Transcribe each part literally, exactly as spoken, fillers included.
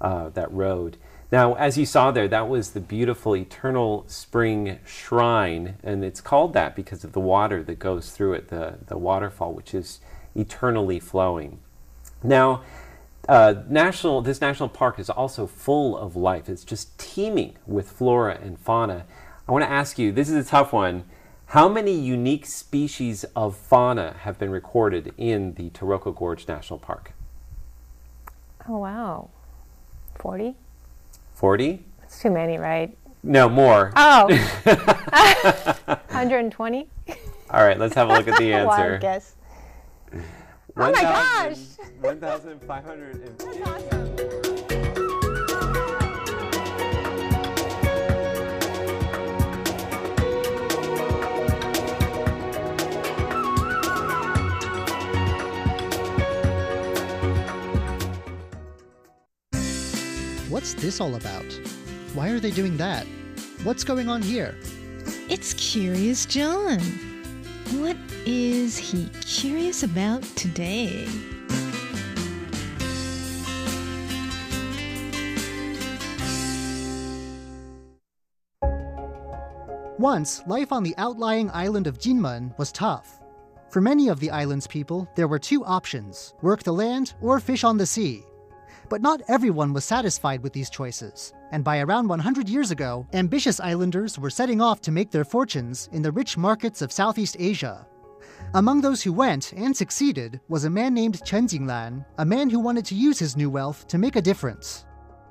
uh, that road. Now, as you saw there, that was the beautiful Eternal Spring Shrine, and it's called that because of the water that goes through it, the, the waterfall, which is eternally flowing. Now, uh, national this national park is also full of life. It's just teeming with flora and fauna. I want to ask you, this is a tough one, how many unique species of fauna have been recorded in the Taroko Gorge National Park? Oh, wow. forty? forty? That's too many, right? No, more. Oh. one hundred twenty? All right, let's have a look at the answer. Wild guess. one, oh my gosh! one thousand five hundred fifty. That's awesome. What's this all about? Why are they doing that? What's going on here? It's Curious John. What is he curious about today? Once, life on the outlying island of Jinmen was tough. For many of the island's people, there were two options: work the land or fish on the sea. But not everyone was satisfied with these choices, and by around one hundred years ago, ambitious islanders were setting off to make their fortunes in the rich markets of Southeast Asia. Among those who went and succeeded was a man named Chen Jinglan, a man who wanted to use his new wealth to make a difference.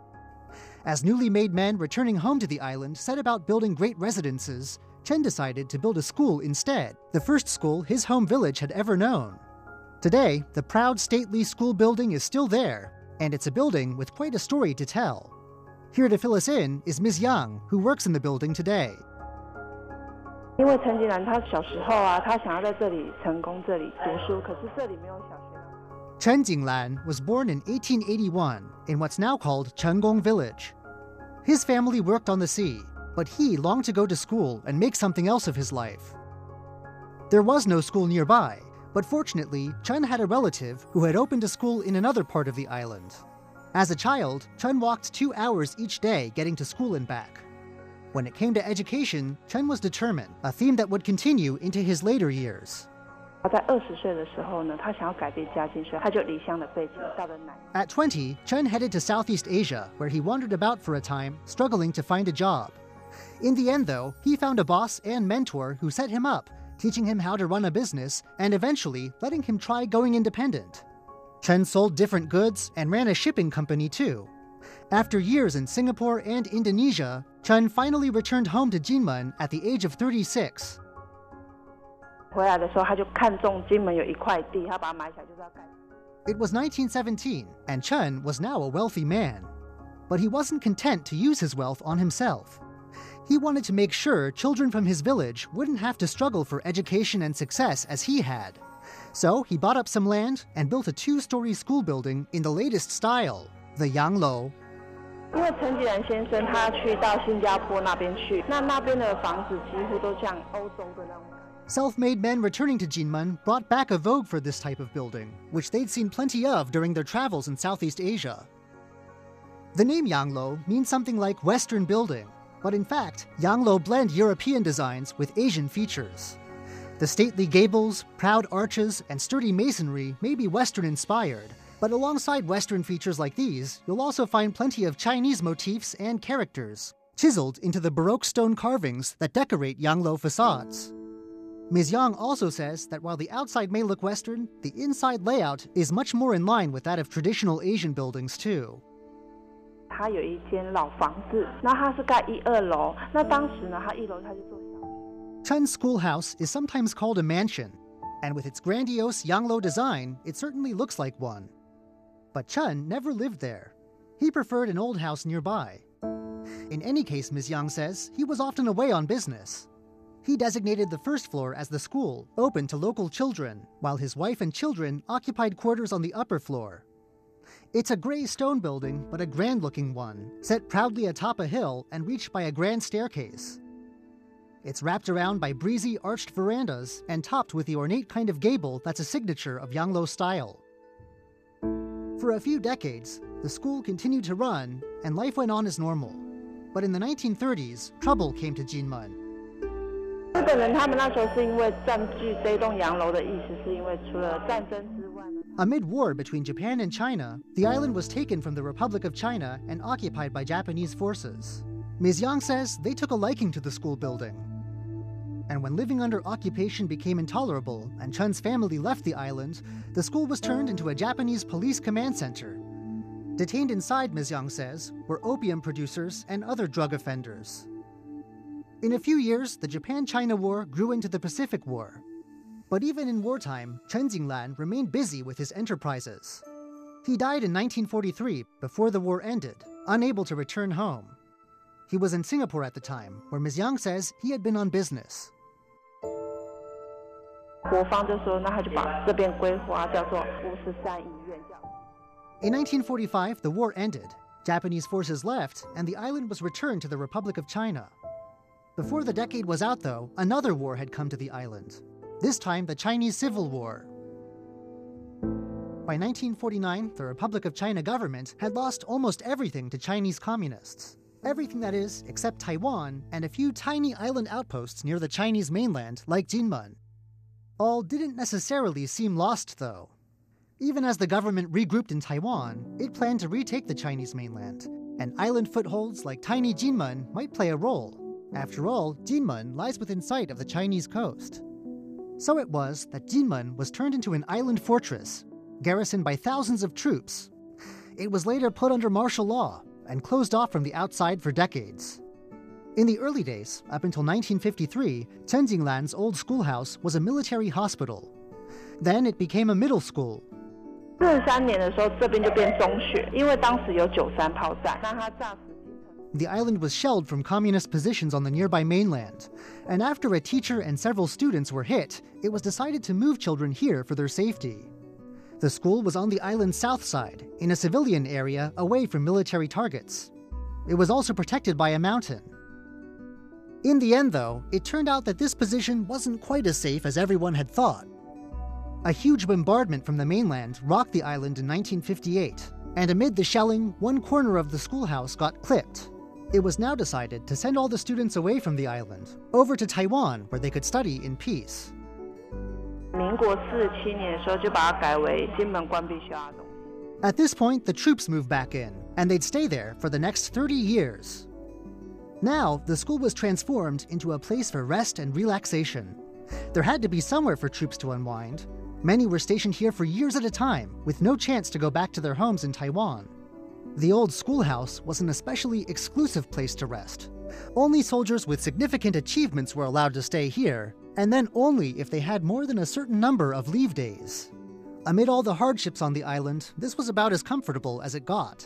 As newly made men returning home to the island set about building great residences, Chen decided to build a school instead, the first school his home village had ever known. Today, the proud stately school building is still there, and it's a building with quite a story to tell. Here to fill us in is Miz Yang, who works in the building today. 因为陈景兰他小时候啊，他想要在这里成功，这里读书，可是这里没有小学。 Chen Jinglan was born in eighteen eighty-one in what's now called Chenggong Village. His family worked on the sea, but he longed to go to school and make something else of his life. There was no school nearby, but fortunately, Chen had a relative who had opened a school in another part of the island. As a child, Chen walked two hours each day getting to school and back. When it came to education, Chen was determined, a theme that would continue into his later years. 他在二十岁的时候呢，他想要改变家境，所以他就离乡的背景到了南。 At twenty, Chen headed to Southeast Asia, where he wandered about for a time, struggling to find a job. In the end, though, he found a boss and mentor who set him up, teaching him how to run a business, and eventually letting him try going independent. Chen sold different goods and ran a shipping company too. After years in Singapore and Indonesia, Chen finally returned home to Jinmen at the age of thirty-six. 回来的时候，他就看中金门有一块地，他把它买起来就是要盖。 It was nineteen seventeen, and Chen was now a wealthy man. But he wasn't content to use his wealth on himself. He wanted to make sure children from his village wouldn't have to struggle for education and success as he had. So he bought up some land and built a two-story school building in the latest style, the Yanglou. 因为陈吉然先生他去到新加坡那边去，那那边的房子几乎都像欧洲的那种。 Self-made men returning to Jinmen brought back a vogue for this type of building, which they'd seen plenty of during their travels in Southeast Asia. The name Yanglou means something like Western building, but in fact, Yanglou blend European designs with Asian features. The stately gables, proud arches, and sturdy masonry may be Western-inspired, but alongside Western features like these, you'll also find plenty of Chinese motifs and characters, chiseled into the Baroque stone carvings that decorate Yanglou facades. Miz Yang also says that while the outside may look Western, the inside layout is much more in line with that of traditional Asian buildings too. 他有一间老房子，那他是盖一二楼，那当时呢，他一楼他就做小。 Chen's schoolhouse is sometimes called a mansion, and with its grandiose Yanglou design, it certainly looks like one. But Chen never lived there. He preferred an old house nearby. In any case, Miz Yang says, he was often away on business. He designated the first floor as the school, open to local children, while his wife and children occupied quarters on the upper floor. It's a gray stone building, but a grand-looking one, set proudly atop a hill and reached by a grand staircase. It's wrapped around by breezy arched verandas and topped with the ornate kind of gable that's a signature of Yanglou style. For a few decades, the school continued to run, and life went on as normal. But in the nineteen thirties, trouble came to Jinmen. 日本人他们那时候是因为占据这栋洋楼的意思，是因为除了战争之外呢。 Amid war between Japan and China, the island was taken from the Republic of China and occupied by Japanese forces. Miz Yang says they took a liking to the school building. And when living under occupation became intolerable and Chun's family left the island, the school was turned into a Japanese police command center. Detained inside, Miz Yang says, were opium producers and other drug offenders. In a few years, the Japan-China War grew into the Pacific War. But even in wartime, Chen Jinglan remained busy with his enterprises. He died in nineteen forty-three, before the war ended, unable to return home. He was in Singapore at the time, where Miz Yang says he had been on business. 国方就说，那他就把这边规划叫做五十三医院。 In nineteen forty-five, the war ended. Japanese forces left, and the island was returned to the Republic of China. Before the decade was out, though, another war had come to the island. This time, the Chinese Civil War. By nineteen forty-nine, the Republic of China government had lost almost everything to Chinese communists. Everything, that is, except Taiwan and a few tiny island outposts near the Chinese mainland, like Jinmen. All didn't necessarily seem lost, though. Even as the government regrouped in Taiwan, it planned to retake the Chinese mainland, and island footholds like tiny Jinmen might play a role. After all, Jinmen lies within sight of the Chinese coast. So it was that Jinmen was turned into an island fortress, garrisoned by thousands of troops. It was later put under martial law and closed off from the outside for decades. In the early days, up until nineteen fifty-three, Chen Jinglan's old schoolhouse was a military hospital. Then it became a middle school. 四十三年的时候，这边就变中学，因为当时有九三炮战，那他炸死。 The island was shelled from communist positions on the nearby mainland, and after a teacher and several students were hit, it was decided to move children here for their safety. The school was on the island's south side, in a civilian area away from military targets. It was also protected by a mountain. In the end, though, it turned out that this position wasn't quite as safe as everyone had thought. A huge bombardment from the mainland rocked the island in nineteen fifty-eight, and amid the shelling, one corner of the schoolhouse got clipped. It was now decided to send all the students away from the island, over to Taiwan, where they could study in peace. 民国四十七年的时候，就把它改为金门关闭学校东西。 At this point, the troops moved back in, and they'd stay there for the next thirty years. Now, the school was transformed into a place for rest and relaxation. There had to be somewhere for troops to unwind. Many were stationed here for years at a time, with no chance to go back to their homes in Taiwan. The old schoolhouse was an especially exclusive place to rest. Only soldiers with significant achievements were allowed to stay here, and then only if they had more than a certain number of leave days. Amid all the hardships on the island, this was about as comfortable as it got.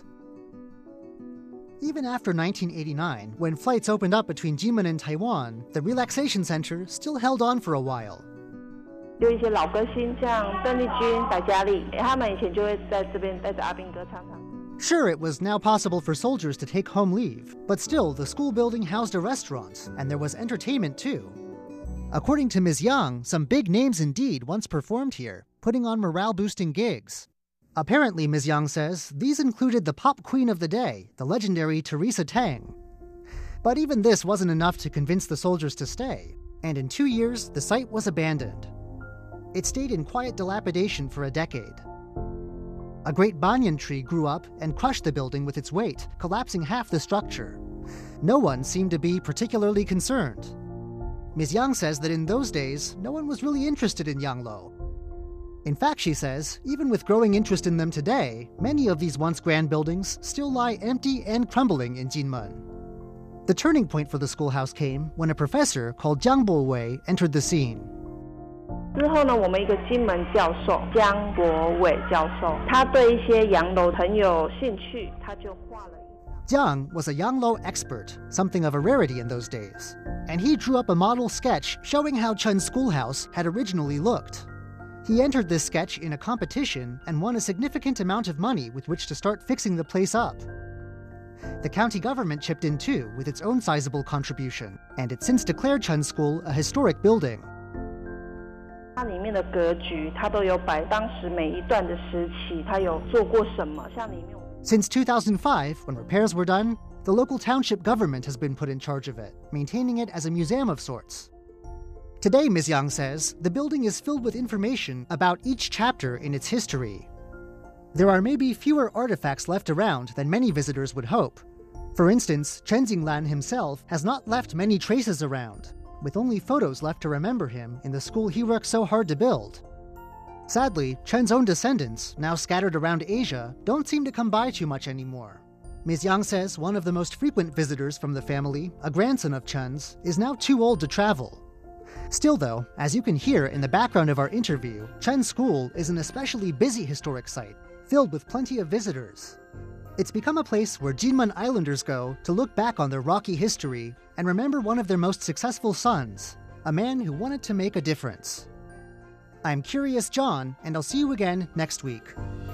Even after nineteen eighty-nine, when flights opened up between Jinmen and Taiwan, the relaxation center still held on for a while. 有一些老歌星，像邓丽君、白嘉莉，他们以前就会在这边带着阿兵哥唱唱。 Sure, it was now possible for soldiers to take home leave, but still, the school building housed a restaurant, and there was entertainment too. According to Miz Yang, some big names indeed once performed here, putting on morale-boosting gigs. Apparently, Miz Yang says, these included the pop queen of the day, the legendary Teresa Teng. But even this wasn't enough to convince the soldiers to stay, and in two years, the site was abandoned. It stayed in quiet dilapidation for a decade. A great banyan tree grew up and crushed the building with its weight, collapsing half the structure. No one seemed to be particularly concerned. Miz Yang says that in those days, no one was really interested in Yanglo. In fact, she says, even with growing interest in them today, many of these once grand buildings still lie empty and crumbling in Jinmen. The turning point for the schoolhouse came when a professor called Jiang Bo-wei entered the scene. 之后呢，我们一个金门教授江国伟教授，他对一些洋楼很有兴趣，他就画了一张。 Jiang was a Yanglo expert, something of a rarity in those days, and he drew up a model sketch showing how Chun's schoolhouse had originally looked. He entered this sketch in a competition and won a significant amount of money with which to start fixing the place up. The county government chipped in too with its own sizable contribution, and it since declared Chun's school a historic building. 它里面的格局，它都有摆当时每一段的时期，它有做过什么。像里面。 Since two thousand five, when repairs were done, the local township government has been put in charge of it, maintaining it as a museum of sorts. Today, Miz Yang says, the building is filled with information about each chapter in its history. There are maybe fewer artifacts left around than many visitors would hope. For instance, Chen Xinglan himself has not left many traces around, with only photos left to remember him in the school he worked so hard to build. Sadly, Chen's own descendants, now scattered around Asia, don't seem to come by too much anymore. Miz Yang says one of the most frequent visitors from the family, a grandson of Chen's, is now too old to travel. Still though, as you can hear in the background of our interview, Chen's school is an especially busy historic site, filled with plenty of visitors. It's become a place where Jinmen Islanders go to look back on their rocky history and remember one of their most successful sons, a man who wanted to make a difference. I'm Curious John, and I'll see you again next week.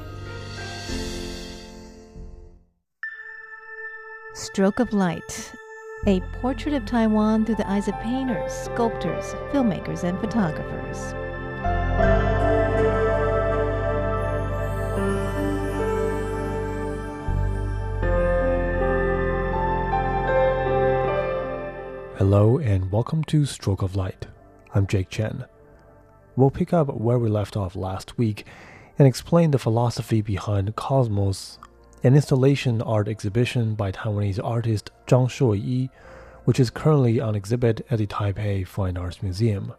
Stroke of Light, a portrait of Taiwan through the eyes of painters, sculptors, filmmakers, and photographers. Hello and welcome to Stroke of Light. I'm Jake Chen. We'll pick up where we left off last week and explain the philosophy behind Cosmos, an installation art exhibition by Taiwanese artist Zhang Shuoyi, which is currently on exhibit at the Taipei Fine Arts Museum.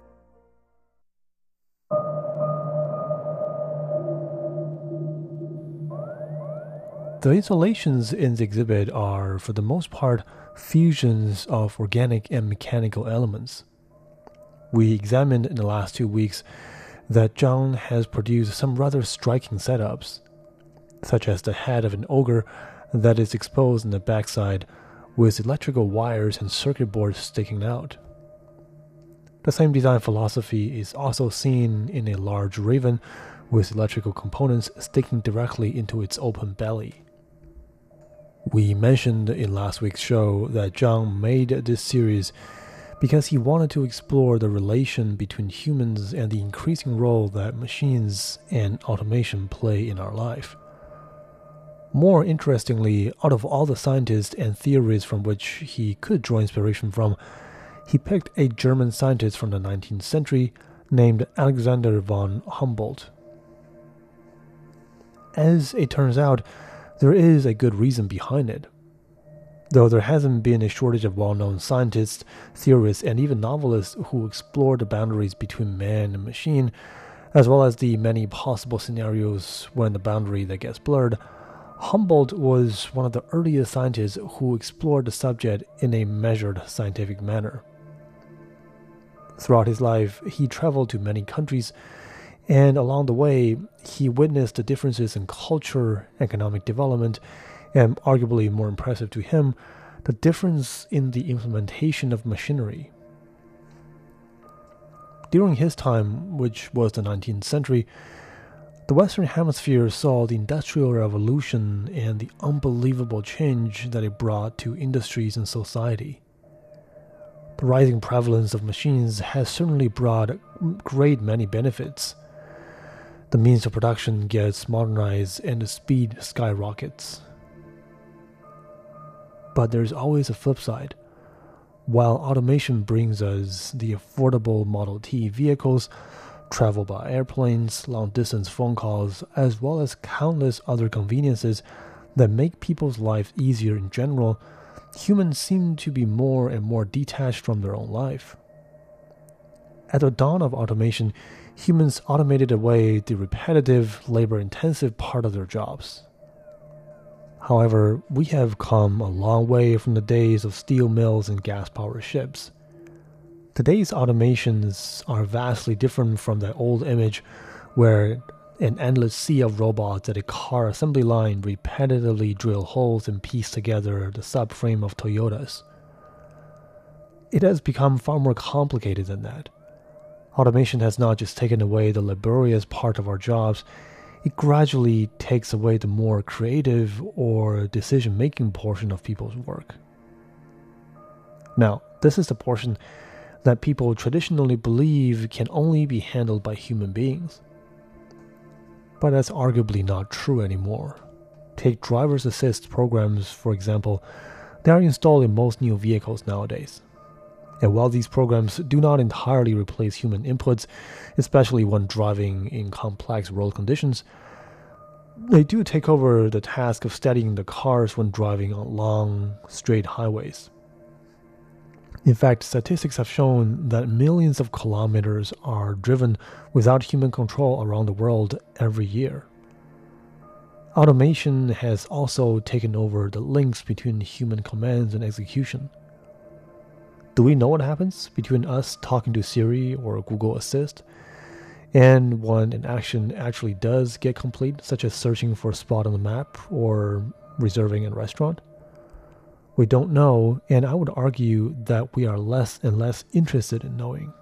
The installations in the exhibit are, for the most part, fusions of organic and mechanical elements. We examined in the last two weeks that Zhang has produced some rather striking setups, such as the head of an ogre that is exposed in the backside with electrical wires and circuit boards sticking out. The same design philosophy is also seen in a large raven with electrical components sticking directly into its open belly. We mentioned in last week's show that Zhang made this series because he wanted to explore the relation between humans and the increasing role that machines and automation play in our life. More interestingly, out of all the scientists and theories from which he could draw inspiration from, he picked a German scientist from the nineteenth century named Alexander von Humboldt. As it turns out, there is a good reason behind it. Though there hasn't been a shortage of well-known scientists, theorists, and even novelists who explore the boundaries between man and machine, as well as the many possible scenarios when the boundary that gets blurred, Humboldt was one of the earliest scientists who explored the subject in a measured scientific manner. Throughout his life, he traveled to many countries, and along the way, he witnessed the differences in culture, economic development, and arguably more impressive to him, the difference in the implementation of machinery. During his time, which was the nineteenth century, the Western Hemisphere saw the Industrial Revolution and the unbelievable change that it brought to industries and society. The rising prevalence of machines has certainly brought a great many benefits. The means of production gets modernized and the speed skyrockets. But there's always a flip side. While automation brings us the affordable Model T vehicles, travel by airplanes, long-distance phone calls, as well as countless other conveniences that make people's lives easier in general, humans seem to be more and more detached from their own life. At the dawn of automation, humans automated away the repetitive, labor-intensive part of their jobs. However, we have come a long way from the days of steel mills and gas-powered ships. Today's automations are vastly different from that old image where an endless sea of robots at a car assembly line repetitively drill holes and piece together the subframe of Toyotas. It has become far more complicated than that. Automation has not just taken away the laborious part of our jobs, it gradually takes away the more creative or decision-making portion of people's work. Now, this is the portion that people traditionally believe can only be handled by human beings. But that's arguably not true anymore. Take driver's assist programs, for example. They are installed in most new vehicles nowadays. And while these programs do not entirely replace human inputs, especially when driving in complex road conditions, they do take over the task of steadying the cars when driving on long, straight highways. In fact, statistics have shown that millions of kilometers are driven without human control around the world every year. Automation has also taken over the links between human commands and execution. Do we know what happens between us talking to Siri or Google Assist and when an action actually does get complete, such as searching for a spot on the map or reserving a restaurant? We don't know, and I would argue that we are less and less interested in knowing.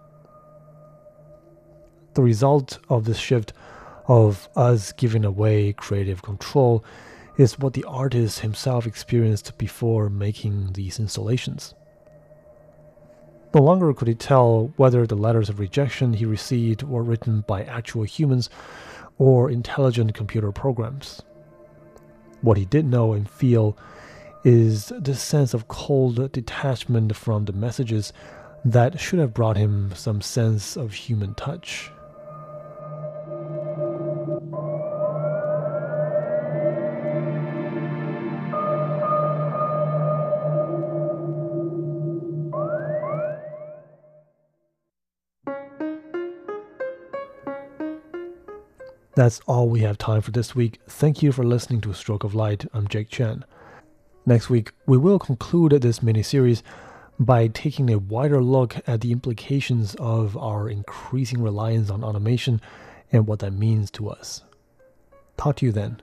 The result of this shift of us giving away creative control is what the artist himself experienced before making these installations. No longer could he tell whether the letters of rejection he received were written by actual humans or intelligent computer programs. What he did know and feel is this sense of cold detachment from the messages that should have brought him some sense of human touch. That's all we have time for this week. Thank you for listening to Stroke of Light. I'm Jake Chen. Next week, we will conclude this mini-series by taking a wider look at the implications of our increasing reliance on automation and what that means to us. Talk to you then.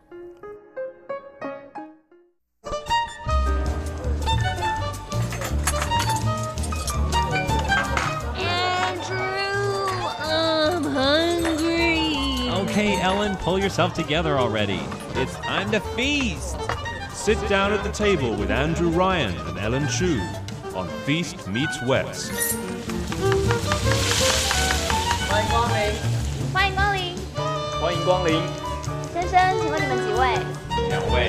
Okay, Ellen, pull yourself together already. It's time to feast. Sit down at the table with Andrew Ryan and Ellen Chu on Feast Meets West. 欢迎光临， 欢迎光临， 欢迎光临。 先生，请问你们几位？ 两位。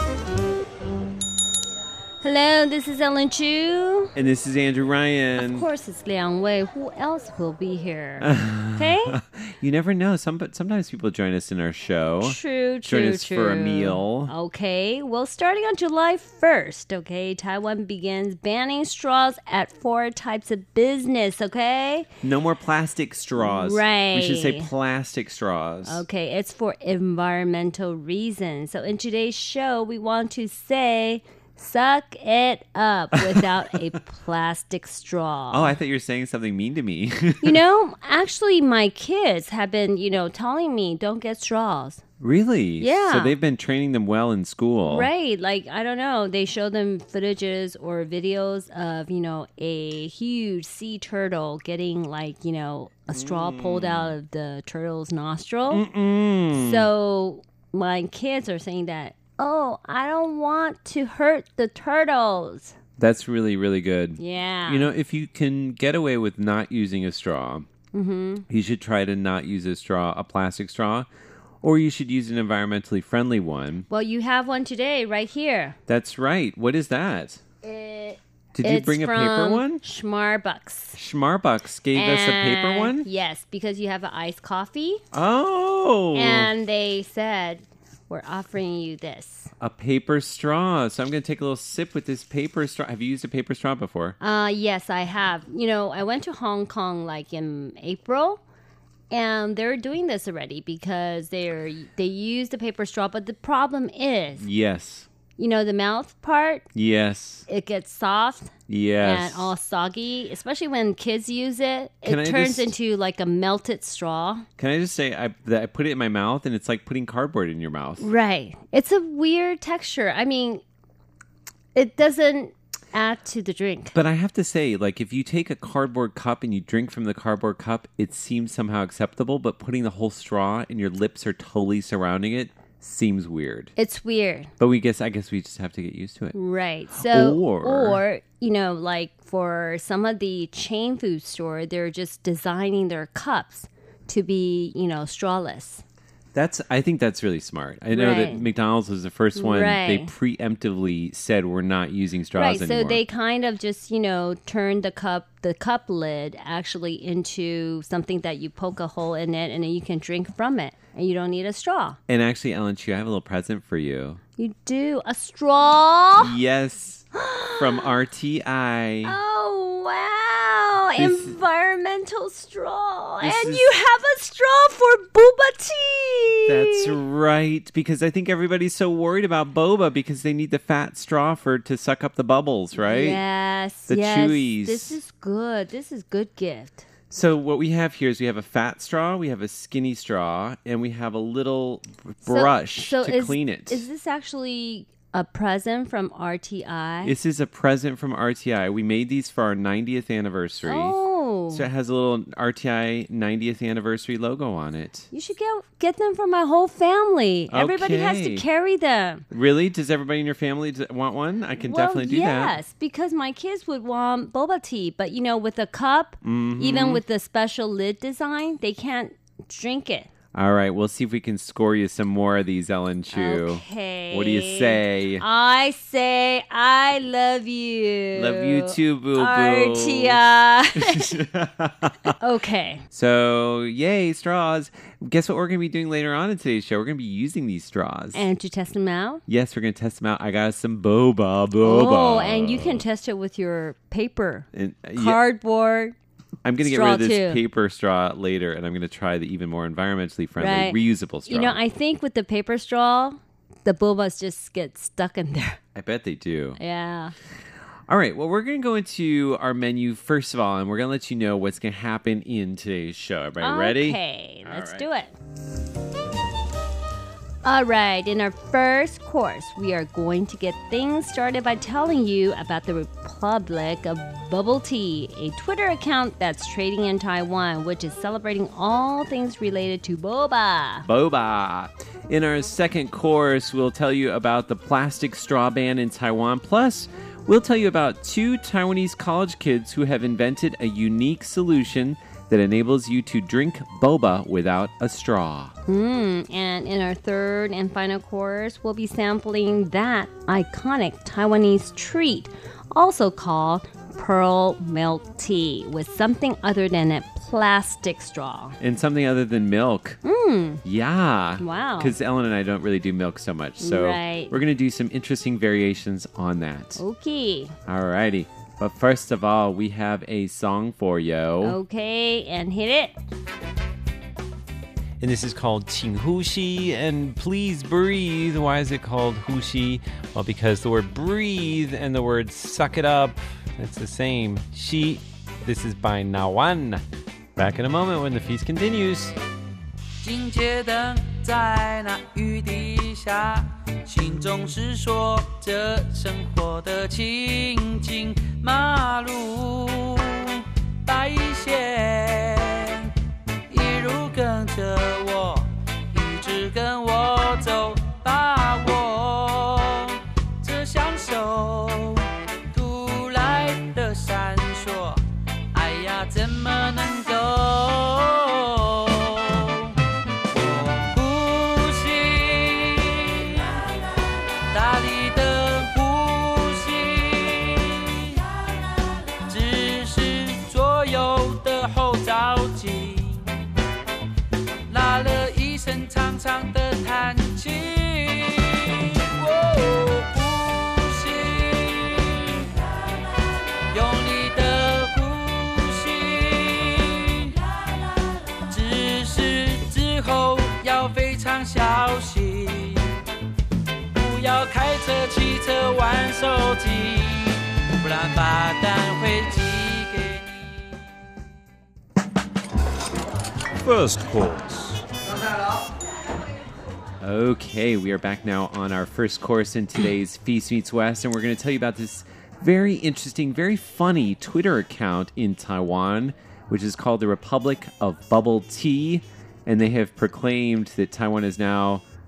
Hello, this is Ellen Chu. And this is Andrew Ryan. Of course, it's Liang Wei. Who else will be here? Okay? You never know. Some, but sometimes people join us in our show. True, true, Join us true. for a meal. Okay. Well, starting on July first, okay, Taiwan begins banning straws at four types of business, okay? No more plastic straws. Right. We should say plastic straws. Okay, it's for environmental reasons. So in today's show, we want to say... Suck it up without a plastic straw. Oh, I thought you were saying something mean to me. You know, actually, my kids have been, you know, telling me don't get straws. Really? Yeah. So they've been training them well in school. Right. Like, I don't know. They show them footages or videos of, you know, a huge sea turtle getting, like, you know, a straw mm. pulled out of the turtle's nostril. Mm-mm. So my kids are saying that, oh, I don't want to hurt the turtles. That's really, really good. Yeah. You know, if you can get away with not using a straw, mm-hmm. you should try to not use a straw, a plastic straw, or you should use an environmentally friendly one. Well, you have one today right here. That's right. What is that? It, Did you bring a paper one? Schmarbucks. Schmarbucks gave and us a paper one? Yes, because you have an iced coffee. Oh. And they said... We're offering you this. A paper straw. So I'm going to take a little sip with this paper straw. Have you used a paper straw before? Uh, yes, I have. You know, I went to Hong Kong like in April, and they're doing this already because they're they use the paper straw. But the problem is, yes, you know, the mouth part. Yes, it gets soft. Yes, and all soggy, especially when kids use it. Can it I turns just, into like a melted straw. Can I just say, I, that I put it in my mouth, and it's like putting cardboard in your mouth. Right. It's a weird texture. I mean, it doesn't add to the drink. But I have to say, like, if you take a cardboard cup and you drink from the cardboard cup, it seems somehow acceptable, but putting the whole straw and your lips are totally surrounding it seems weird. It's weird. But we guess I guess we just have to get used to it. Right. So or, or you know, like for some of the chain food store, they're just designing their cups to be, you know, strawless. That's. I think that's really smart. I know Right. that McDonald's was the first one. Right. They preemptively said we're not using straws Right, anymore. so they kind of just, you know, turn the cup, the cup lid actually into something that you poke a hole in it and then you can drink from it and you don't need a straw. And actually, Ellen Chu, I have a little present for you. You do? A straw? Yes, from R T I. Oh, wow. This- Environmental straw. This And is- you have a straw for boba tea. That's right, because I think everybody's so worried about boba because they need the fat straw for to suck up the bubbles, right? Yes, The yes. chewies. This is good. This is good gift. So what we have here is we have a fat straw, we have a skinny straw, and we have a little So- brush so to is, clean it. Is this actually a present from R T I? This is a present from R T I. We made these for our ninetieth anniversary. Oh. So it has a little R T I ninetieth anniversary logo on it. You should get get them for my whole family. Everybody has to Okay. carry them. Really? Does everybody in your family d- want one? I can well, definitely do that. yes, because my kids would want boba tea, but you know, with a cup, Mhm. even with the special lid design, they can't drink it. All right, we'll see if we can score you some more of these, Ellen Chu. Okay. What do you say? I say I love you. Love you too, boo boo. R T I. Okay. So, yay, straws. Guess what we're going to be doing later on in today's show? We're going to be using these straws. And to test them out? Yes, we're going to test them out. I got some boba, boba. Oh, and you can test it with your paper, And, uh, yeah, cardboard. I'm going to get straw rid of this too. paper straw later, and I'm going to try the even more environmentally friendly, Right. reusable straw. You know, I think with the paper straw, the bobas just get stuck in there. I bet they do. Yeah. All right, well, we're going to go into our menu first of all, and we're going to let you know what's going to happen in today's show. Everybody ready? Okay, All let's right. do it. All right, in our first course, we are going to get things started by telling you about the Republic of Bubble Tea, a Twitter account that's trading in Taiwan, which is celebrating all things related to boba. Boba. In our second course, we'll tell you about the plastic straw ban in Taiwan. Plus, we'll tell you about two Taiwanese college kids who have invented a unique solution that enables you to drink boba without a straw. Mm, and in our third and final course, we'll be sampling that iconic Taiwanese treat, also called pearl milk tea, with something other than a plastic straw. And something other than milk. Mm. Yeah. Wow. Because Ellen and I don't really do milk so much. So Right. we're going to do some interesting variations on that. Okay. All righty. But first of all, we have a song for you. Okay, and hit it. And this is called 请呼吸 and please breathe. Why is it called 呼吸? Well, because the word breathe and the word suck it up, it's the same. 吸. This is by Nawan. Back in a moment when the feast continues. 警戒灯在那雨滴下，心中是说着生活的情景。马路白线一路跟着我，一直跟我走，把握这享受突来的闪烁。哎呀，怎么能够？大力的呼吸，只是左右的后照镜，拉了一声长长的叹气。哦，呼吸，用力的呼吸，只是之后要非常小心。不要开车、骑车、玩手机，不然罚单会寄给你。 First course. Okay, we are back now on our first course in today's Feast Meets West, and we're going to tell you about this very interesting, very funny Twitter account in Taiwan, which is called the Republic of Bubble Tea, and they have proclaimed that Taiwan is now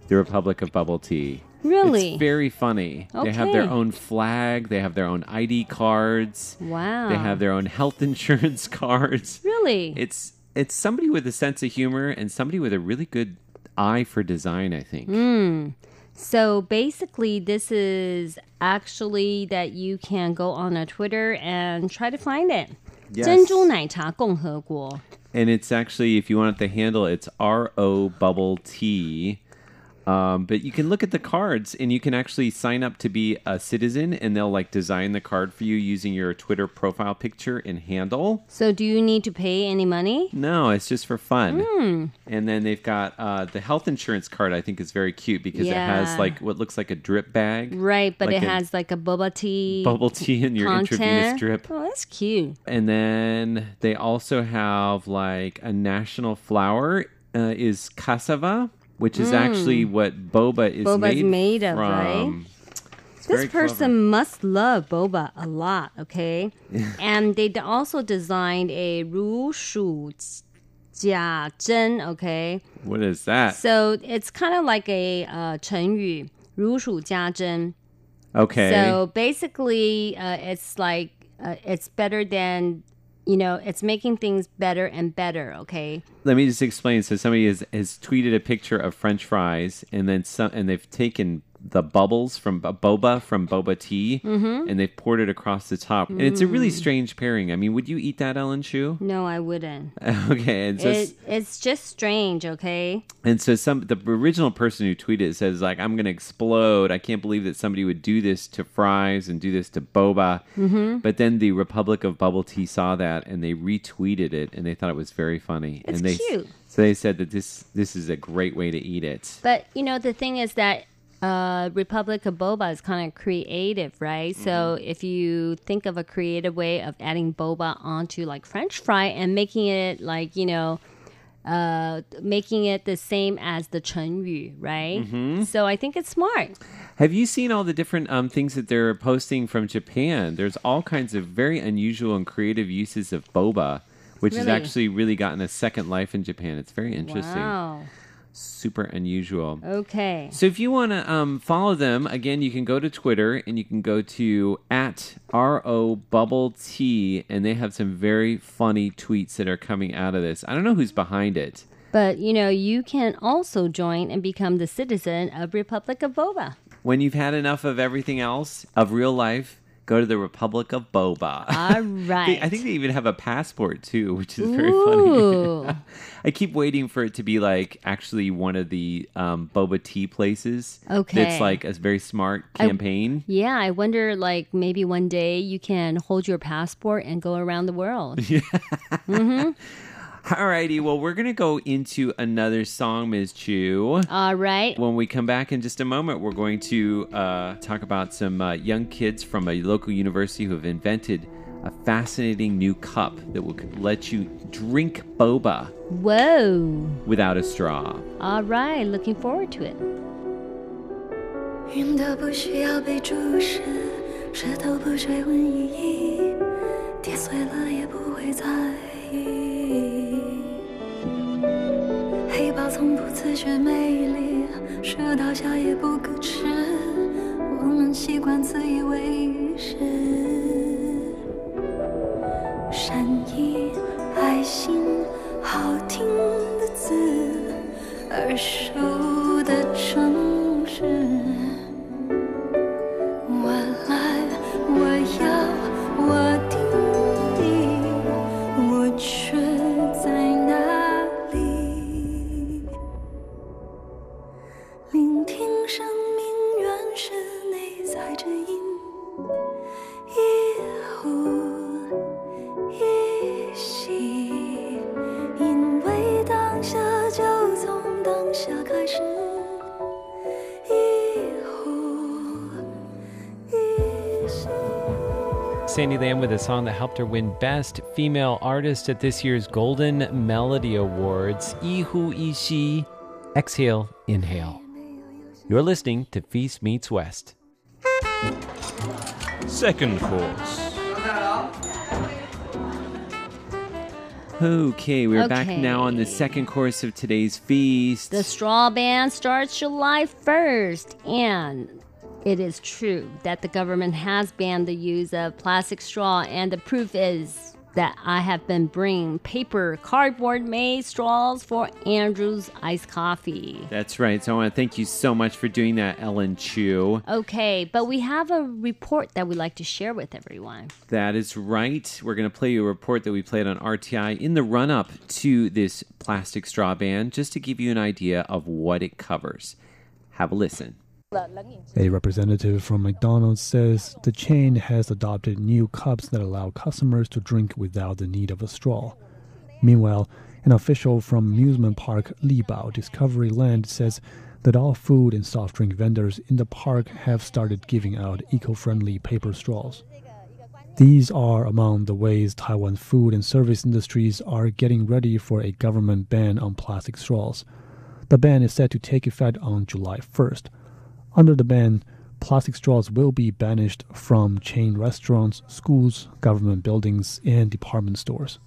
the Republic of Bubble Tea. Really? It's very funny. Okay. They have their own flag. They have their own I D cards. Wow. They have their own health insurance cards. Really? It's it's somebody with a sense of humor and somebody with a really good eye for design, I think. Mm. So basically, this is actually that you can go on a Twitter and try to find it. Yes. 珍珠奶茶共和国. And it's actually, if you want the handle, it's R O Bubble Tea. Um, but you can look at the cards and you can actually sign up to be a citizen and they'll like design the card for you using your Twitter profile picture and handle. So do you need to pay any money? No, it's just for fun. Mm. And then they've got uh, the health insurance card, I think is very cute because Yeah. it has like what looks like a drip bag. Right, but Like it a has like a boba tea. Bubble tea in your content. intravenous drip. Oh, that's cute. And then they also have like a national flower uh, is cassava, which is Mm. actually what boba is Boba's made, made of, from. right? It's This very person must love boba a lot, okay? And they d- also designed a 如数家珍, okay? clever. What is that? So it's kind of like a uh, 成语,如数家珍. Okay. So basically, uh, it's like, uh, it's better than, you know, it's making things better and better, okay? Let me just explain. So somebody has, has tweeted a picture of French fries, and then some, and they've taken the bubbles from b- boba from boba tea, Mhm. and they've poured it across the top. And it's a really strange pairing. I mean, would you eat that, Ellen Shu? No, I wouldn't. Okay, and so It, it's just strange, okay? and so some the original person who tweeted it says like, I'm gonna explode. I can't believe that somebody would do this to fries and do this to boba. Mhm. But then the Republic of Bubble Tea saw that and they retweeted it and they thought it was very funny. It's and they, cute. So they said that this this is a great way to eat it. But, you know, the thing is that uh, Republic of Boba is kind of creative, right? Mm-hmm. So if you think of a creative way of adding boba onto like French fry and making it like, you know, uh, making it the same as the 成语, right? Mhm. So I think it's smart. Have you seen all the different um, things that they're posting from Japan? There's all kinds of very unusual and creative uses of boba, which has Really? actually really gotten a second life in Japan. It's very interesting. Wow. Super unusual. Okay. So if you want to um, follow them, again, you can go to Twitter and you can go to at R O Bubble Tea, and they have some very funny tweets that are coming out of this. I don't know who's behind it. But, you know, you can also join and become the citizen of Republic of Boba. When you've had enough of everything else, of real life, go to the Republic of Boba. All right. They- I think they even have a passport, too, which is very Ooh. funny. I keep waiting for it to be like actually one of the um, boba tea places. Okay. That's like a very smart I- campaign. Yeah, I wonder, like, maybe one day you can hold your passport and go around the world. Mm-hmm. Alrighty, well, we're going to go into another song, Miz Chu. All right. When we come back in just a moment, we're going to uh, talk about some uh, young kids from a local university who have invented a fascinating new cup that will let you drink boba Whoa. without a straw. All right, looking forward to it. 云都不需要被注视，石头不追问意义，跌碎了也不会在意。黑豹从不自觉美丽，树倒下也不可耻，我们习惯自以为是。善意、爱心，好听的字，耳熟的城市。我来，我要，我定义，我却在哪里？聆听生命原始内在之音，一呼一吸，因为当下就从当下开始。 Sandy Lam with a song that helped her win Best Female Artist at this year's Golden Melody Awards. Ihu Ishi. Exhale, inhale. You're listening to Feast Meets West. Second course. Okay, we're Okay. back now on the second course of today's feast. The straw ban starts July first, and it is true that the government has banned the use of plastic straw, and the proof is that I have been bringing paper, cardboard-made straws for Andrew's iced coffee. That's right. So I want to thank you so much for doing that, Ellen Chu. Okay, but we have a report that we'd like to share with everyone. That is right. We're going to play you a report that we played on R T I in the run-up to this plastic straw ban, just to give you an idea of what it covers. Have a listen. A representative from McDonald's says the chain has adopted new cups that allow customers to drink without the need of a straw. Meanwhile, an official from amusement park Libao Discovery Land says that all food and soft drink vendors in the park have started giving out eco-friendly paper straws. These are among the ways Taiwan's food and service industries are getting ready for a government ban on plastic straws. The ban is set to take effect on July first. Under the ban, plastic straws will be banished from chain restaurants, schools, government buildings, and department stores.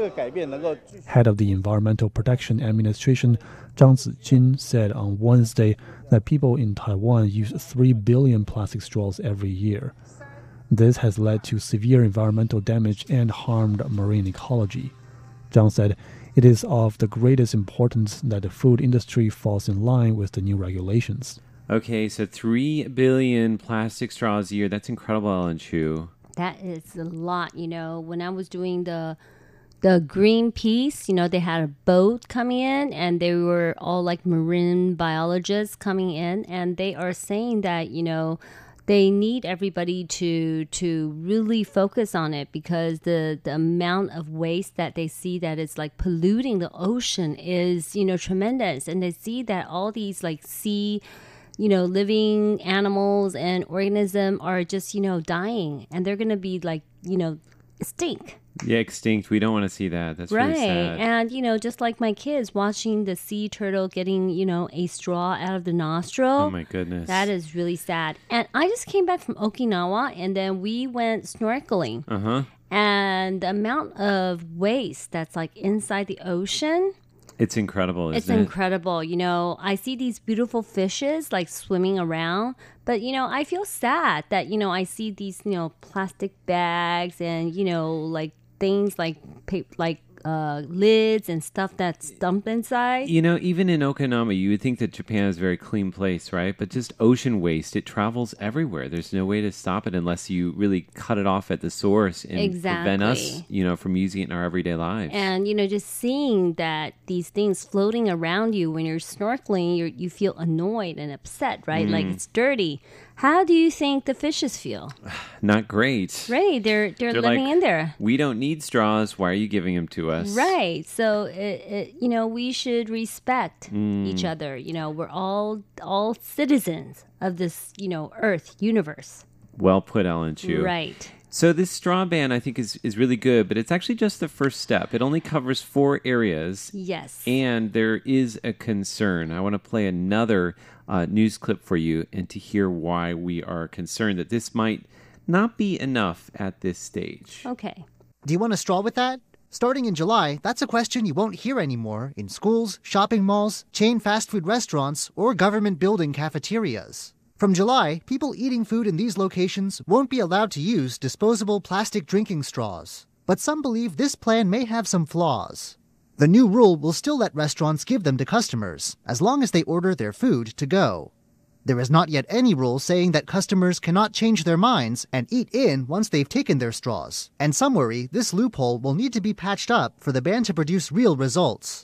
Head of the Environmental Protection Administration, Zhang Zijin, said on Wednesday that people in Taiwan use three billion plastic straws every year. This has led to severe environmental damage and harmed marine ecology. Zhang said it is of the greatest importance that the food industry falls in line with the new regulations. Okay, so three billion plastic straws a year. That's incredible, Ellen Chu. That is a lot, you know. When I was doing the the Greenpeace, you know, they had a boat coming in, and they were all like marine biologists coming in, and they are saying that, you know, they need everybody to to really focus on it, because the, the amount of waste that they see that is like polluting the ocean is, you know, tremendous. And they see that all these like sea, you know, living animals and organisms are just, you know, dying, and they're going to be like, you know, stink. Yeah, extinct. We don't want to see that. That's right. really sad. And, you know, just like my kids watching the sea turtle getting, you know, a straw out of the nostril. Oh, my goodness. That is really sad. And I just came back from Okinawa, and then we went snorkeling. Uh-huh. And the amount of waste that's like inside the ocean. It's incredible, isn't it's it? It's incredible. You know, I see these beautiful fishes like swimming around, but, you know, I feel sad that, you know, I see these, you know, plastic bags and, you know, like things like like uh, lids and stuff that's dumped inside. You know, even in Okinawa, you would think that Japan is a very clean place, right? But just ocean waste, it travels everywhere. There's no way to stop it unless you really cut it off at the source and exactly. prevent us, you know, from using it in our everyday lives. And, you know, just seeing that these things floating around you when you're snorkeling, you're, you feel annoyed and upset, right? Mm. Like it's dirty. How do you think the fishes feel? Not great. Right. They're, they're, they're living like, in there. We don't need straws. Why are you giving them to us? Right. So, it, it, you know, we should respect mm. each other. You know, we're all all citizens of this, you know, Earth, universe. Well put, Ellen Chu. Right. So this straw ban, I think, is, is really good, but it's actually just the first step. It only covers four areas. Yes. And there is a concern. I want to play another uh, news clip for you and to hear why we are concerned that this might not be enough at this stage. Okay. Do you want a straw with that? Starting in July, that's a question you won't hear anymore in schools, shopping malls, chain fast food restaurants, or government building cafeterias. From July, people eating food in these locations won't be allowed to use disposable plastic drinking straws. But some believe this plan may have some flaws. The new rule will still let restaurants give them to customers, as long as they order their food to go. There is not yet any rule saying that customers cannot change their minds and eat in once they've taken their straws. And some worry this loophole will need to be patched up for the ban to produce real results.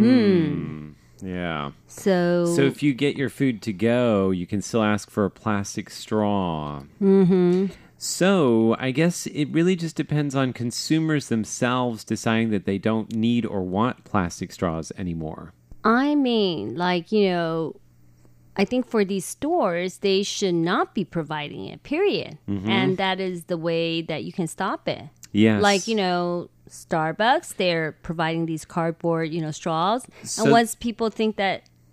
Hmm. Yeah. So So if you get your food to go, you can still ask for a plastic straw. Mm-hmm. So I guess it really just depends on consumers themselves deciding that they don't need or want plastic straws anymore. I mean, like, you know, I think for these stores, they should not be providing it, period. Mm-hmm. And that is the way that you can stop it. Yes. Like, you know, Starbucks, they're providing these cardboard, you know, straws. So, and once people think that,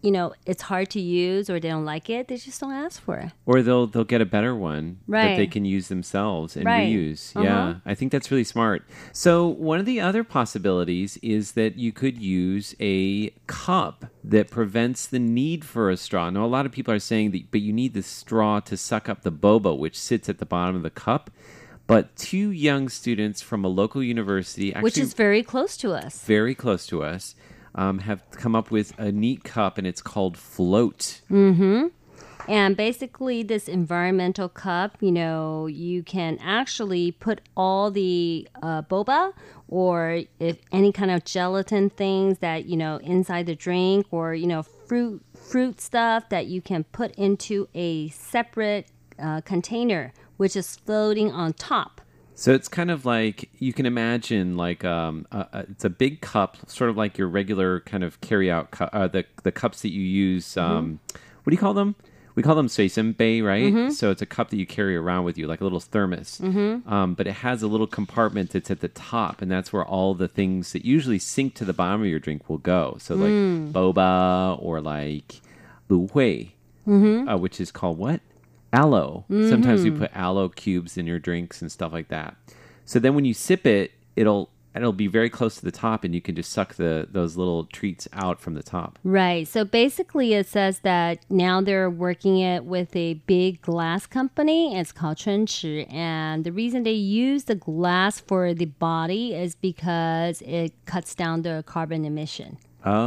you know, it's hard to use or they don't like it, they just don't ask for it. Or they'll they'll get a better one right. that they can use themselves and right. reuse. Uh-huh. Yeah, I think that's really smart. So one of the other possibilities is that you could use a cup that prevents the need for a straw. Now, a lot of people are saying that, but you need the straw to suck up the boba, which sits at the bottom of the cup. But two young students from a local university, actually which is very close to us, very close to us, um, have come up with a neat cup, and it's called Float. Mm-hmm. And basically, this environmental cup, you know, you can actually put all the uh, boba or if any kind of gelatin things that, you know, inside the drink or, you know, fruit fruit stuff that you can put into a separate uh, container, which is floating on top. So it's kind of like, you can imagine like um, a, a, it's a big cup, sort of like your regular kind of carry-out cup, uh, the, the cups that you use. Um, mm-hmm. What do you call them? We call them suisenbei, right? Mm-hmm. So it's a cup that you carry around with you, like a little thermos. Mm-hmm. Um, but it has a little compartment that's at the top, and that's where all the things that usually sink to the bottom of your drink will go. So like mm. boba or like lu hui, mm-hmm. uh, which is called what? Aloe. Mm-hmm. Sometimes we put aloe cubes in your drinks and stuff like that. So then when you sip it, it'll it'll be very close to the top, and you can just suck the those little treats out from the top. Right. So basically it says that now they're working it with a big glass company. It's called Chunchi. And the reason they use the glass for the body is because it cuts down the carbon emission.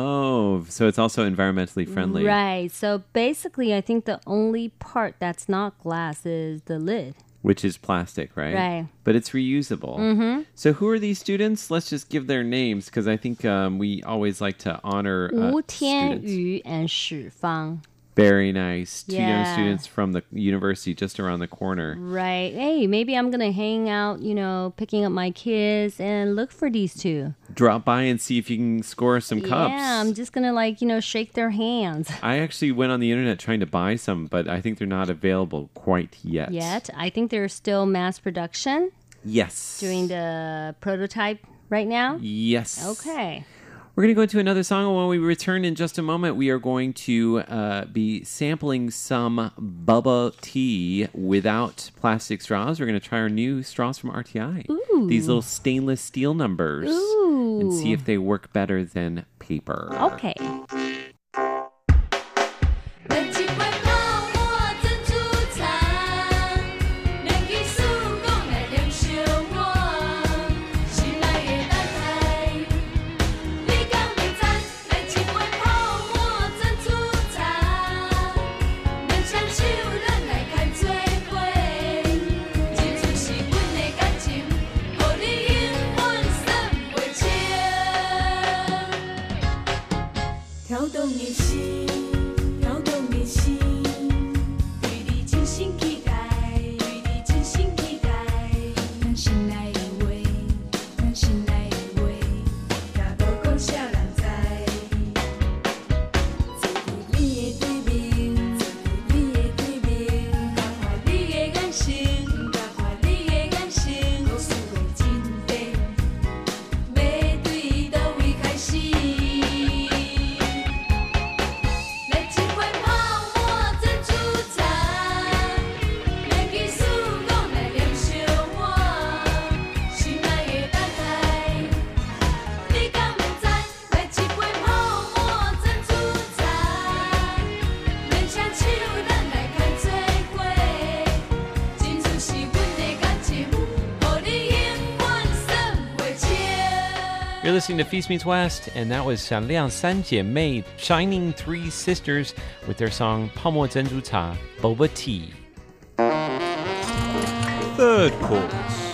Oh, so it's also environmentally friendly. Right. So basically, I think the only part that's not glass is the lid. Which is plastic, right? Right. But it's reusable. Mm-hmm. So who are these students? Let's just give their names, because I think um, we always like to honor uh, Wu students. Tianyu and Shi Fang. Very nice. Two Yeah. young students from the university just around the corner. Right. Hey, maybe I'm going to hang out, you know, picking up my kids and look for these two. Drop by and see if you can score some cups. Yeah, I'm just going to, like, you know, shake their hands. I actually went on the internet trying to buy some, but I think they're not available quite yet. Yet. I think they're still mass production. Yes. Doing the prototype right now. Yes. Okay. We're going to go into another song, and when we return in just a moment, we are going to uh, be sampling some bubble tea without plastic straws. We're going to try our new straws from R T I. Ooh. These little stainless steel numbers. Ooh. And see if they work better than paper. Okay. You're listening to Feast Meets West, and that was 闪亮三姐妹 Shining Three Sisters with their song 泡沫珍珠茶 Boba Tea. Third course.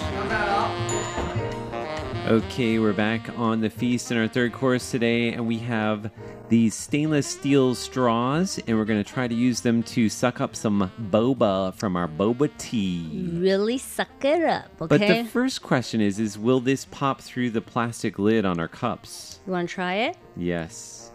Okay, we're back on the feast in our third course today, and we have these stainless steel straws, and we're going to try to use them to suck up some boba from our boba tea. Really suck it up, okay? But the first question is, is will this pop through the plastic lid on our cups? You want to try it? Yes.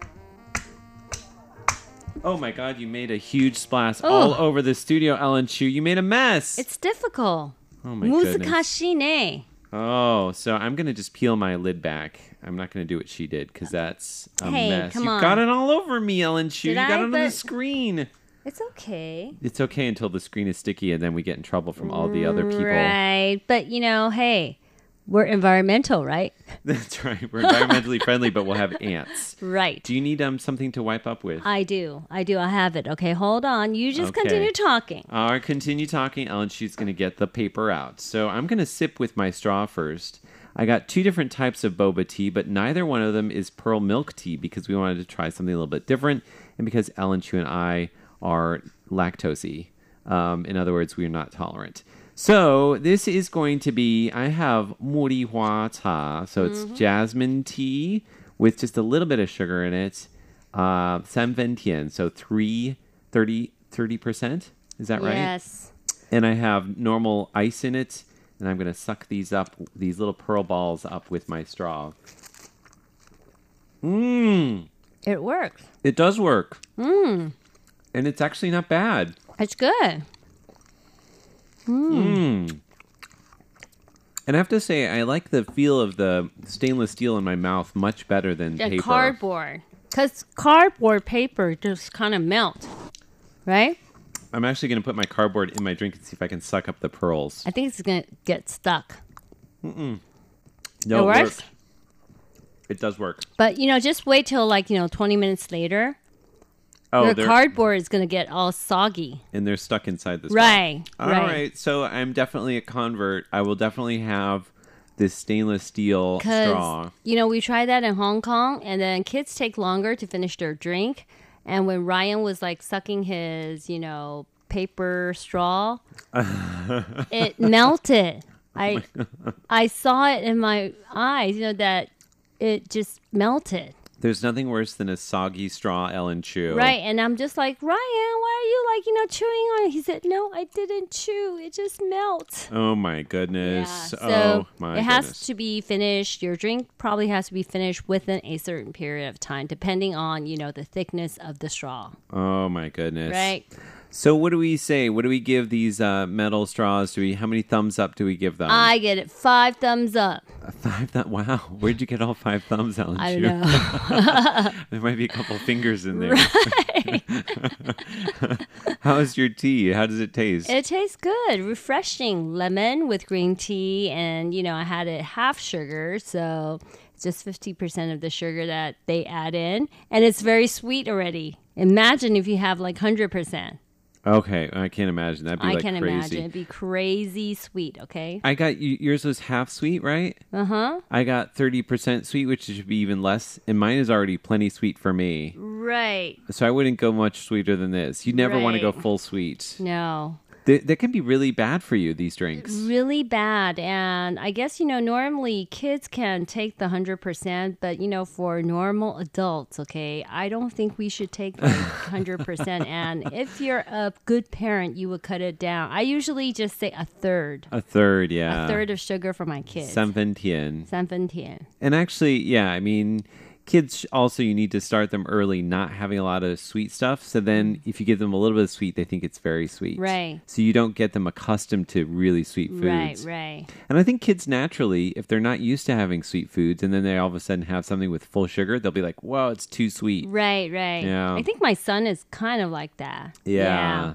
Oh my God, you made a huge splash Oh. all over the studio, Ellen Chu. You made a mess. It's difficult. Oh my 難 goodness. しいね. Oh, so I'm going to just peel my lid back. I'm not going to do what she did because that's a Hey, mess. come You've on. got it all over me, Ellen Chu. Did You got I? it on the But- screen. It's okay. It's okay until the screen is sticky and then we get in trouble from all the other people. Right. But, you know, hey, we're environmental, right? That's right. We're environmentally friendly, but we'll have ants. Right. Do you need um something to wipe up with? I do. I do. I have it. Okay, hold on. You just Okay. continue talking. All right, continue talking, Ellen. She's going to get the paper out. So I'm going to sip with my straw first. I got two different types of boba tea, but neither one of them is pearl milk tea because we wanted to try something a little bit different and because Ellen Chu and I are lactose. Um, in other words, we are not tolerant. So this is going to be, I have Muri Hua Cha, so it's Mm-hmm. jasmine tea with just a little bit of sugar in it. Uh, San Fen Tian, so three, thirty, thirty percent. Is that right? Yes. And I have normal ice in it, and I'm going to suck these up, these little pearl balls up with my straw. Mmm. It works. It does work. Mmm. And it's actually not bad. It's good. Mmm. And I have to say, I like the feel of the stainless steel in my mouth much better than The paper. cardboard. Because cardboard paper just kind of melt, right? I'm actually going to put my cardboard in my drink and see if I can suck up the pearls. I think it's going to get stuck. Mm-mm. It No, it, works? works. It does work. But, you know, just wait till like, you know, twenty minutes later. Oh, your they're- cardboard is going to get all soggy. And they're stuck inside the straw. Right, All right. right. So I'm definitely a convert. I will definitely have this stainless steel straw. Because, you know, we tried that in Hong Kong, and then kids take longer to finish their drink. And when Ryan was like sucking his, you know, paper straw, it melted. I I saw it in my eyes, you know, that it just melted. There's nothing worse than a soggy straw, Ellen Chu. Right. And I'm just like, Ryan, why are you like, you know, chewing on it? He said, no, I didn't chew. It just melts. Oh my goodness. So oh my it has goodness. to be finished. Your drink probably has to be finished within a certain period of time, depending on, you know, the thickness of the straw. Oh my goodness. Right. So what do we say? What do we give these uh, metal straws? Do we? How many thumbs up do we give them? I get it. Five thumbs up. Five. Th- wow. Where'd you get all five thumbs, Ellen? I Chu? don't know. There might be a couple fingers in there. Right. How's your tea? How does it taste? It tastes good. Refreshing. Lemon with green tea. And, you know, I had it half sugar. So it's just fifty percent of the sugar that they add in. And it's very sweet already. Imagine if you have like one hundred percent. Okay, I can't imagine. That'd be I like can crazy. imagine. It'd be crazy sweet, okay? I got y- yours was half sweet, right? Uh-huh. I got thirty percent sweet, which should be even less, and mine is already plenty sweet for me. Right. So I wouldn't go much sweeter than this. You never want to go Right. full sweet. No. Th- that can be really bad for you, these drinks. Really bad. And I guess, you know, normally kids can take the one hundred percent, but, you know, for normal adults, okay, I don't think we should take like one hundred percent. And if you're a good parent, you would cut it down. I usually just say a third. A third, yeah. A third of sugar for my kids. San Fen Tian. San Fen Tian. And actually, yeah, I mean, kids also, you need to start them early, not having a lot of sweet stuff. So then if you give them a little bit of sweet, they think it's very sweet. Right. So you don't get them accustomed to really sweet foods. Right, right. And I think kids naturally, if they're not used to having sweet foods and then they all of a sudden have something with full sugar, they'll be like, whoa, it's too sweet. Right, right. Yeah. I think my son is kind of like that. Yeah.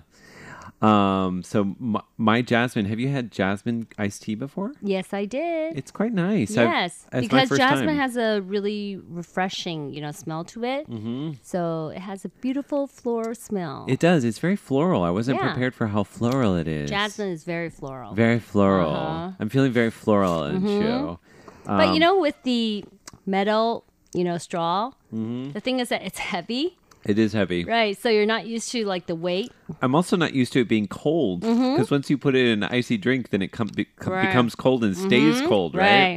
Um. So my, my jasmine, have you had jasmine iced tea before? Yes, I did. It's quite nice. I've- Yes, that's my because first jasmine time. has a really refreshing, you know, smell to it. Mm-hmm. So it has a beautiful floral smell. It does. It's very floral. I wasn't Yeah. prepared for how floral it is. Jasmine is very floral. Very floral. Uh-huh. I'm feeling very floral and Mhm. show. But you Um, know, with the metal, you know, straw, Mhm. the thing is that it's heavy, it is heavy. right? So you're not used to like the weight. I'm also not used to it being cold because Mhm. once you put it in an icy drink, then it com- be- com- Right. becomes cold and stays Mhm. cold, right? Right.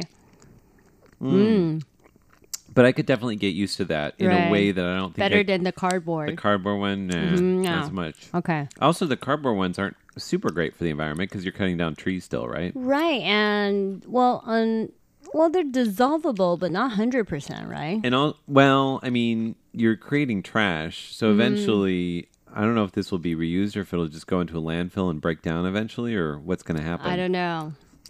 Mm. Mm. But I could definitely get used to that in Right. a way that I don't think Better I, than the cardboard. the cardboard one. Nah, Mhm, not no. so much. Okay. Also, the cardboard ones aren't super great for the environment because you're cutting down trees still, right? Right, and well, on well, they're dissolvable, but not hundred percent, right? And all well, I mean, you're creating trash, so Mhm. eventually, I don't know if this will be reused or if it'll just go into a landfill and break down eventually, or what's going to happen. I don't know.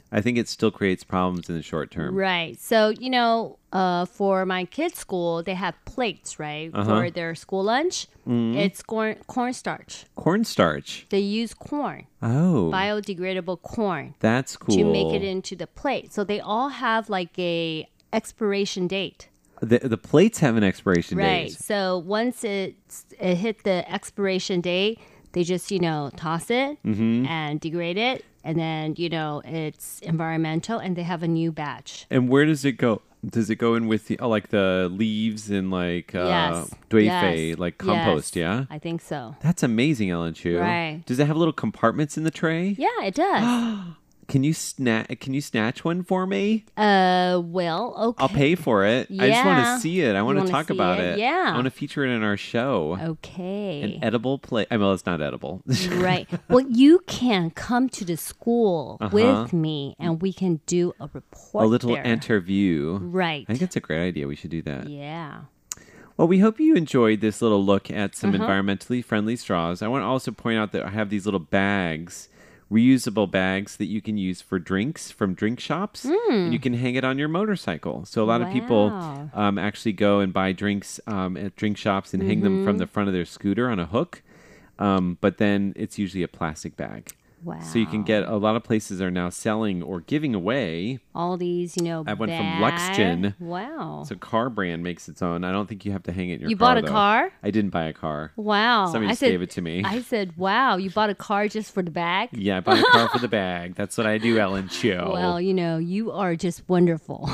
I think it still creates problems in the short term. Right. So, you know, uh, for my kids' school, they have plates, right? Uh-huh. For their school lunch. Mm. It's corn cornstarch. Cornstarch. They use corn. Oh. Biodegradable corn. That's cool. To make it into the plate. So they all have like a expiration date. The, the plates have an expiration right. date. So once it's, it hit the expiration date, they just, you know, toss it mm-hmm. and degrade it. And then, you know, it's environmental and they have a new batch. And where does it go? Does it go in with the, oh, like the leaves and like uh, yes. duifei, yes. like compost, yes. yeah? I think so. That's amazing, Ellen Chu. Right. Does it have little compartments in the tray? Yeah, it does. Can you snatch? Can you snatch one for me? Uh, well, okay. I'll pay for it. Yeah. I just want to see it. I want You to wanna talk see about it? it. Yeah. I want to feature it in our show. Okay. An edible plate. I mean, well, it's not edible. Right. Well, you can come to the school Uh-huh. with me, and we can do a report. A little there. interview. Right. I think that's a great idea. We should do that. Yeah. Well, we hope you enjoyed this little look at some Uh-huh. environmentally friendly straws. I want to also point out that I have these little bags, reusable bags that you can use for drinks from drink shops. Mm. And you can hang it on your motorcycle. So a lot of people Wow. um, actually go and buy drinks um, at drink shops and hang them from Mhm. the front of their scooter on a hook. Um, but then it's usually a plastic bag. Wow. So you can get, a lot of places are now selling or giving away. All these, you know, I have one from bag- Luxgen. Wow. It's a car brand, makes its own. I don't think you have to hang it in your You car. bought a though. car? I didn't buy a car. Wow. Somebody I just said, gave it to me. I said, wow, you bought a car just for the bag? Yeah, I bought a car for the bag. That's what I do, Ellen Chu. Well, you know, you are just wonderful.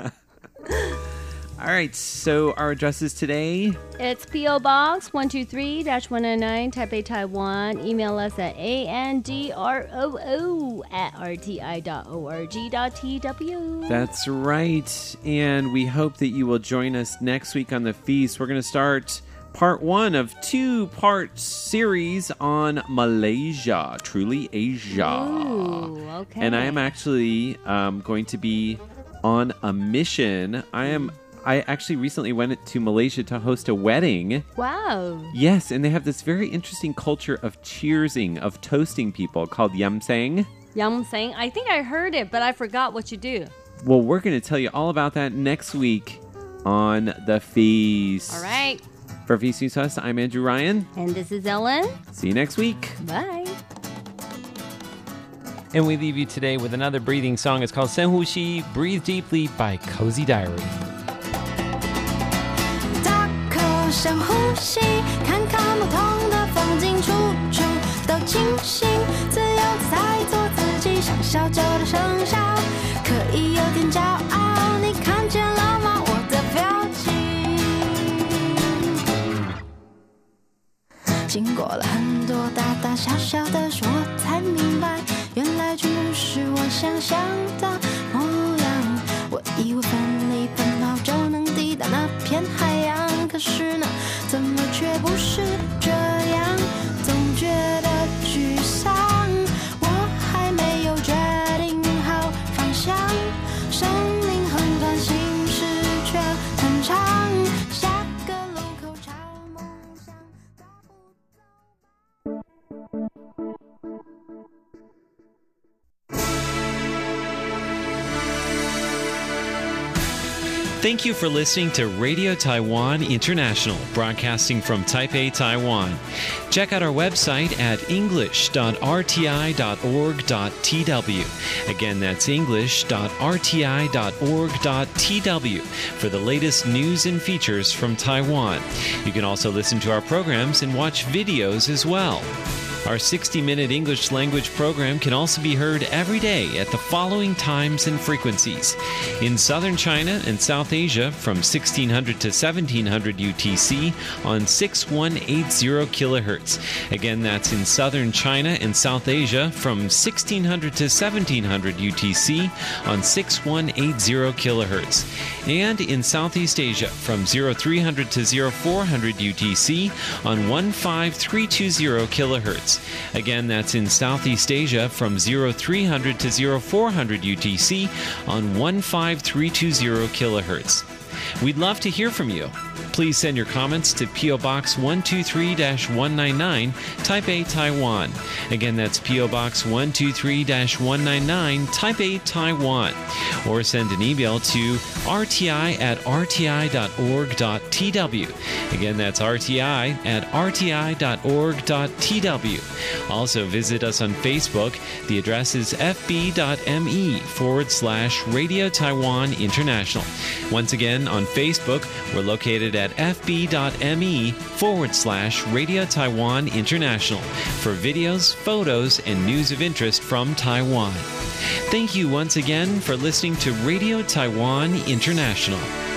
All right, so our addresses today. It's P O. Box one two three one nine nine, Taipei, Taiwan. Email us at A N D R O O at R T I dot org dot T W. That's right. And we hope that you will join us next week on the feast. We're going to start part one of two-part series on Malaysia, truly Asia. Ooh, okay. And I am actually um, going to be on a mission. I am. I actually recently went to Malaysia to host a wedding. Wow. Yes, and they have this very interesting culture of cheersing, of toasting people called yamseng. Yamseng. I think I heard it, but I forgot what you do. Well, we're going to tell you all about that next week on The Feast. All right. For Feast News Us, I'm Andrew Ryan. And this is Ellen. See you next week. Bye. And we leave you today with another breathing song. It's called Sen Hu Xi, Breathe Deeply by Cozy Diary. 大口深呼吸，看看不同的风景，处处都清醒，自由自在做自己，想笑就大声笑，可以有点骄傲。你看见了吗？我的表情。经过了很多大大小小的事，我才明白，原来全不是我想象的模样。我以为奋力奔跑就能抵达那片海洋，可是呢，怎么却不是这样？总觉得沮丧，我还没有决定好方向。生命很短，心事却很长，下个路口朝梦想大步走。 Thank you for listening to Radio Taiwan International, broadcasting from Taipei, Taiwan. Check out our website at english dot r t i dot org dot t w. Again, that's english dot r t i dot org dot t w for the latest news and features from Taiwan. You can also listen to our programs and watch videos as well. Our sixty-minute English language program can also be heard every day at the following times and frequencies. In southern China and South Asia from sixteen hundred to seventeen hundred U T C on six one eight zero kilohertz. Again, that's in southern China and South Asia from sixteen hundred to seventeen hundred U T C on six one eight zero kilohertz. And in Southeast Asia from three hundred to four hundred U T C on one five three two zero kilohertz. Again, that's in Southeast Asia from three hundred to four hundred U T C on one five three two zero kilohertz. We'd love to hear from you. Please send your comments to P O Box one two three one nine nine, Taipei, Taiwan. Again, that's P O Box one two three one nine nine, Taipei, Taiwan. Or send an email to r t i at r t i dot org dot t w. Again, that's r t i at r t i dot org dot t w. Also, visit us on Facebook. The address is fb.me forward slash Radio Taiwan International. Once again, on Facebook, we're located at fb.me forward slash Radio Taiwan International for videos, photos, and news of interest from Taiwan. Thank you once again for listening to Radio Taiwan International.